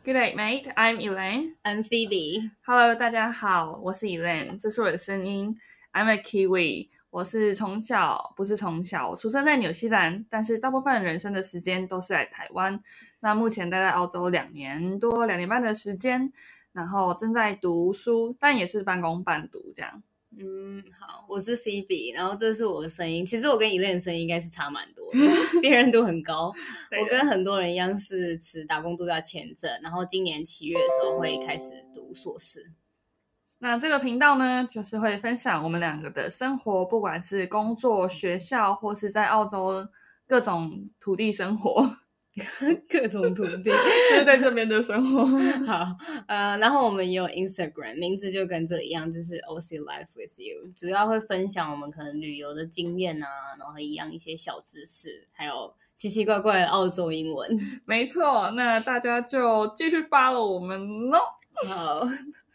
Good day, mate. I'm Elaine. I'm Phoebe. Hello, 大家好，我是 Elaine， 这是我的声音。I'm a Kiwi。我不是从小，我出生在纽西兰，但是大部分人生的时间都是在台湾。那目前待在澳洲2年多、2年半的时间，然后正在读书，但也是半工半读这样。 好，我是 Phoebe， 然后这是我的声音。其实我跟 Elaine 的声音应该是差蛮多的，辨认度很高。我跟很多人一样是持打工度假签证，然后今年7月的时候会开始读硕士。 那这个频道呢，就是会分享我们两个的生活，不管是工作、学校，或是在澳洲各种土地生活。 各种土地就是在这边的生活。 好，然后我们也有 Instagram， 名字就跟这一样，就是 OC Life with You， 主要会分享我们可能旅游的经验啊，然后一些小知识，还有奇奇怪怪的澳洲英文。 没错，那大家就继续follow我们咯。 好，